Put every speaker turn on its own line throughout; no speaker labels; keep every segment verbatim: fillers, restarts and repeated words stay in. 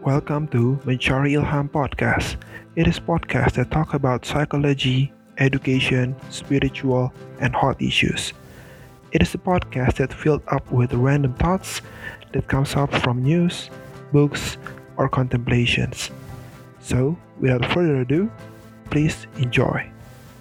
Welcome to Mencari Ilham Podcast. It is podcast that talk about psychology, education, spiritual, and hot issues. It is a podcast that filled up with random thoughts that comes up from news, books, or contemplations. So, without further ado, please enjoy.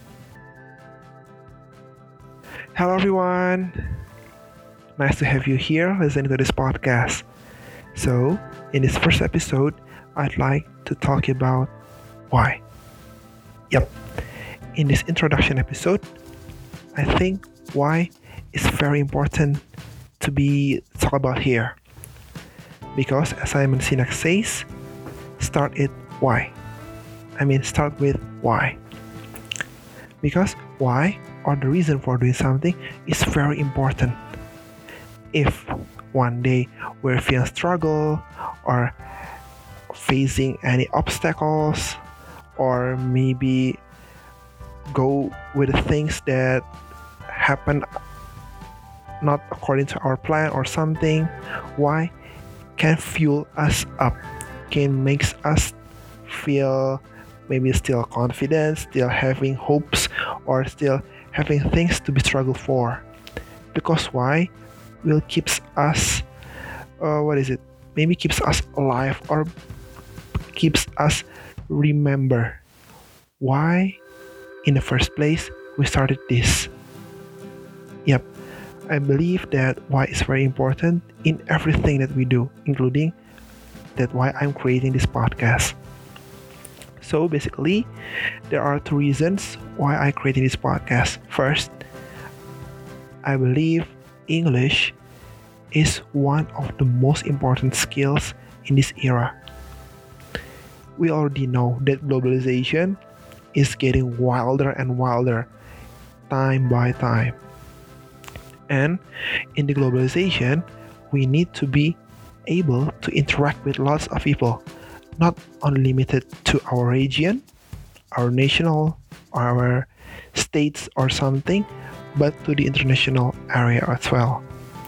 Hello everyone. Nice to have you here listening to this podcast. So, in this first episode, I'd like to talk about why. Yep. In this introduction episode, I think why is very important to be talked about here. Because as Simon Sinek says, start it why. I mean, start with why. Because why or the reason for doing something is very important. If one day we're feeling struggle or facing any obstacles, or maybe go with the things that happen not according to our plan or something, why can fuel us up, can makes us feel maybe still confident, still having hopes, or still having things to be struggled for. Because why will keeps us uh, what is it maybe keeps us alive or keeps us remember why in the first place we started this. Yep, I believe that why is very important in everything that we do, including that why I'm creating this podcast. So basically, there are two reasons why I created this podcast. First, I believe English is one of the most important skills in this era. We already know that globalization is getting wilder and wilder time by time. And in the globalization, we need to be able to interact with lots of people, not only limited to our region, our national, our states or something, but to the international area as well.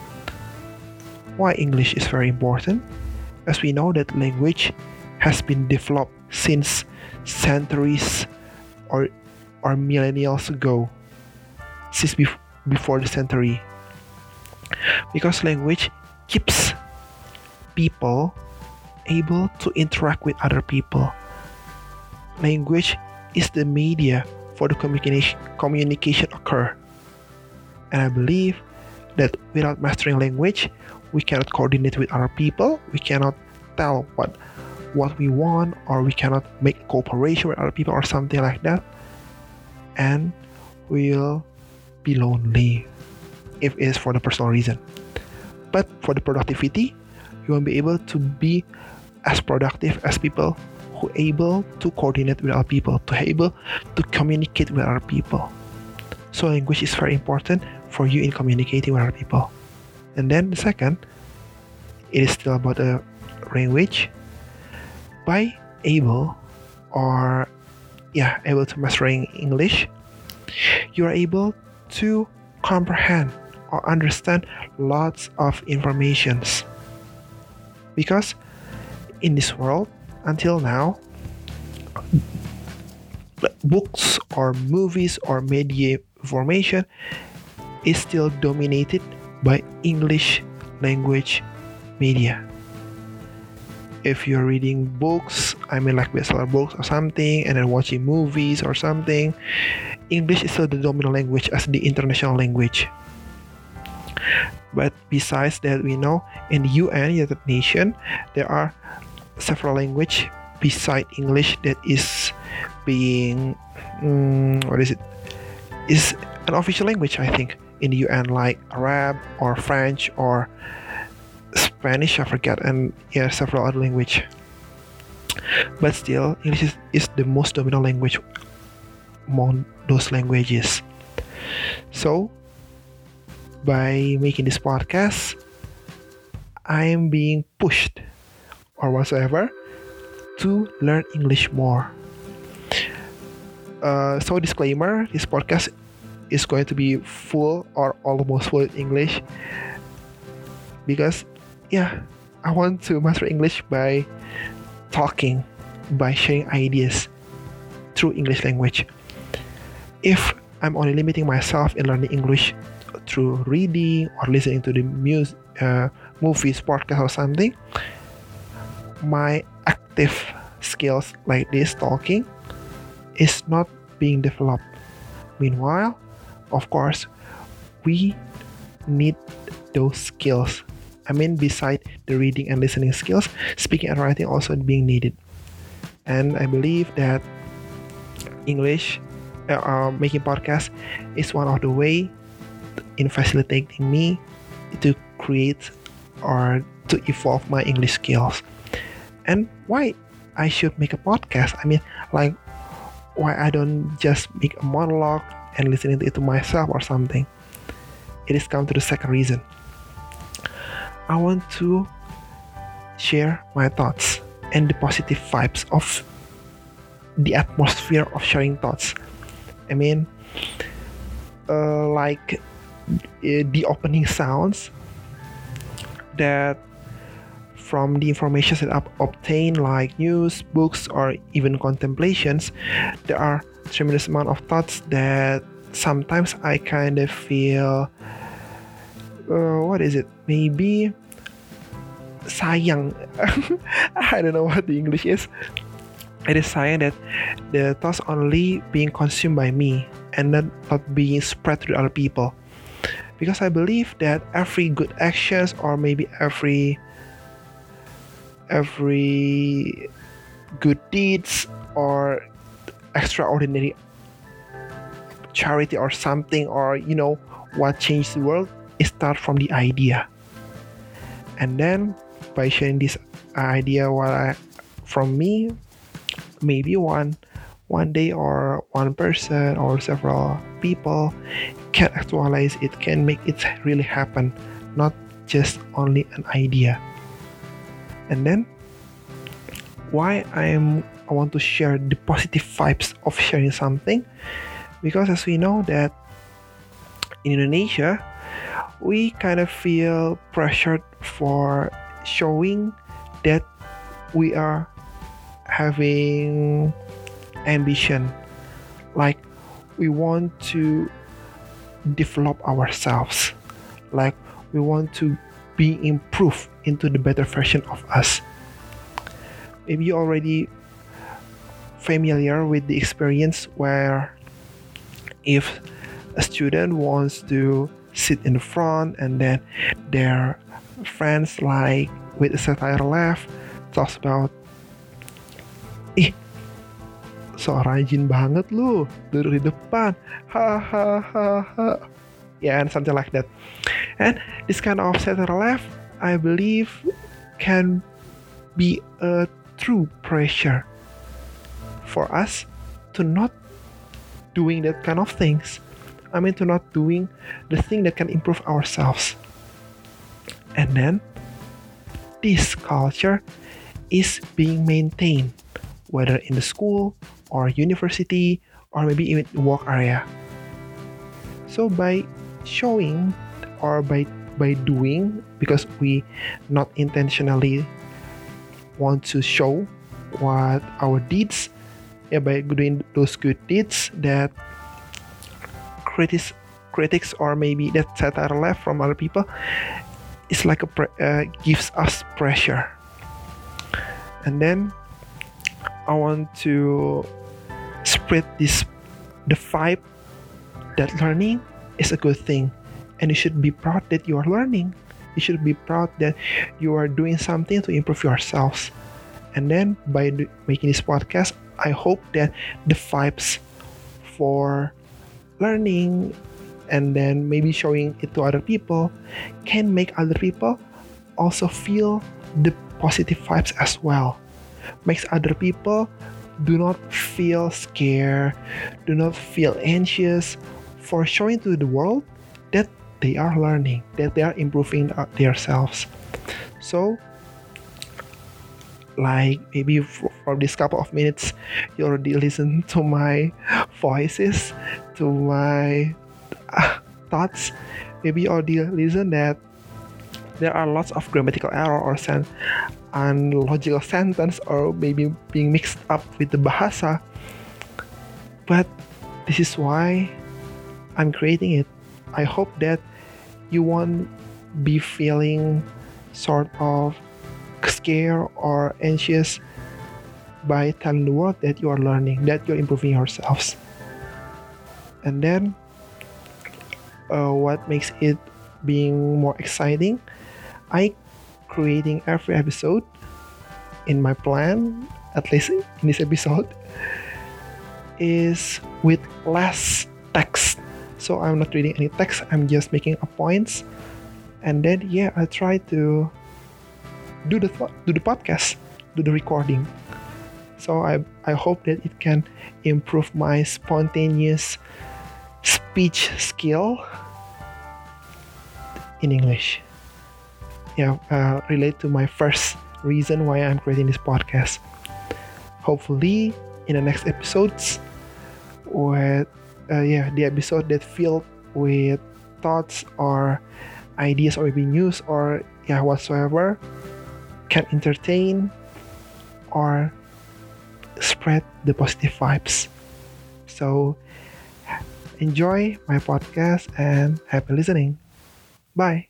Why English is very important? As we know that language has been developed since centuries or or millennials ago, since bef- before the century. Because language keeps people able to interact with other people. Language is the media for the communication communication occur. And I believe that without mastering language, we cannot coordinate with other people, we cannot tell what what we want, or we cannot make cooperation with other people or something like that. And we'll be lonely if it is for the personal reason. But for the productivity, you won't be able to be as productive as people who able to coordinate with other people, to able to communicate with other people. So language is very important for you in communicating with other people. And then the second, it is still about the language. By able or yeah, able to mastering English, you are able to comprehend or understand lots of informations. Because in this world, until now, books or movies or media information is still dominated by English language media. If you're reading books, I mean like bestseller books or something, and then watching movies or something, English is still the dominant language as the international language. But besides that, we know in the U N, United Nations, there are several languages beside English that is being, um, what is it, is an official language, I think, in the U N, like Arab or French or Spanish, I forget, and yeah, several other language. But still, English is, is the most dominant language among those languages. So, by making this podcast, I am being pushed or whatsoever to learn English more. Uh, so disclaimer, this podcast is going to be full or almost full English because yeah, I want to master English by talking, by sharing ideas through English language. If I'm only limiting myself in learning English through reading or listening to the music, uh, movies, podcast, or something, my active skills like this talking is not being developed. Meanwhile, of course, we need those skills. I mean, beside the reading and listening skills, speaking and writing also being needed. And I believe that English, uh, uh, making podcasts is one of the way in facilitating me to create or to evolve my English skills. And why I should make a podcast? I mean, like, why I don't just make a monologue and listening to it to myself or something. It is come to the second reason. I want to share my thoughts and the positive vibes of the atmosphere of sharing thoughts. I mean, uh, like uh, the opening sounds that from the information that I've obtained, like news, books, or even contemplations, there are tremendous amount of thoughts that sometimes I kind of feel, uh, what is it? Maybe sayang. I don't know what the English is. It is sayang that the thoughts only being consumed by me and not, not being spread to other people. Because I believe that every good actions or maybe every every good deeds or extraordinary charity or something, or you know what changed the world, it starts from the idea. And then by sharing this idea what I, from me, maybe one one day or one person or several people can actualize it, can make it really happen, not just only an idea. And then why I am I want to share the positive vibes of sharing something, because as we know that in Indonesia we kind of feel pressured for showing that we are having ambition, like we want to develop ourselves, like we want to be improved into the better version of us. Maybe you already familiar with the experience where if a student wants to sit in the front and then their friends like with a satire laugh talks about, ih so rajin banget lu duduk di depan, ha ha ha ha, yeah, and something like that. And this kind of satire laugh, I believe, can be a true pressure for us to not doing that kind of things. I mean, to not doing the thing that can improve ourselves. And then this culture is being maintained, whether in the school or university or maybe even work area. So by showing or by by doing, because we not intentionally want to show what our deeds, yeah, by doing those good deeds that critics critics or maybe that satire left from other people, it's like a pre- uh, gives us pressure. And then I want to spread this the vibe that learning is a good thing, and you should be proud that you are learning. You should be proud that you are doing something to improve yourselves. And then by do- making this podcast, I hope that the vibes for learning and then maybe showing it to other people can make other people also feel the positive vibes as well. Makes other people do not feel scared, do not feel anxious for showing to the world that they are learning, that they are improving themselves. So, like maybe for, for this couple of minutes, you already listen to my voices, to my uh, thoughts. Maybe you already listen that there are lots of grammatical error or sen- unlogical sentence or maybe being mixed up with the bahasa. But this is why I'm creating it. I hope that you won't be feeling sort of scared or anxious by telling the world that you are learning, that you're improving yourselves. And then uh, what makes it being more exciting, I creating every episode in my plan, at least in this episode, is with less text. So I'm not reading any text, I'm just making a points, and then yeah, I try to do the do the podcast, do the recording. So I I hope that it can improve my spontaneous speech skill in English. Yeah, uh, relate to my first reason why I'm creating this podcast. Hopefully, in the next episodes, with uh, yeah, the episode that filled with thoughts or ideas or maybe news or yeah whatsoever can entertain or spread the positive vibes. So enjoy my podcast and happy listening. Bye.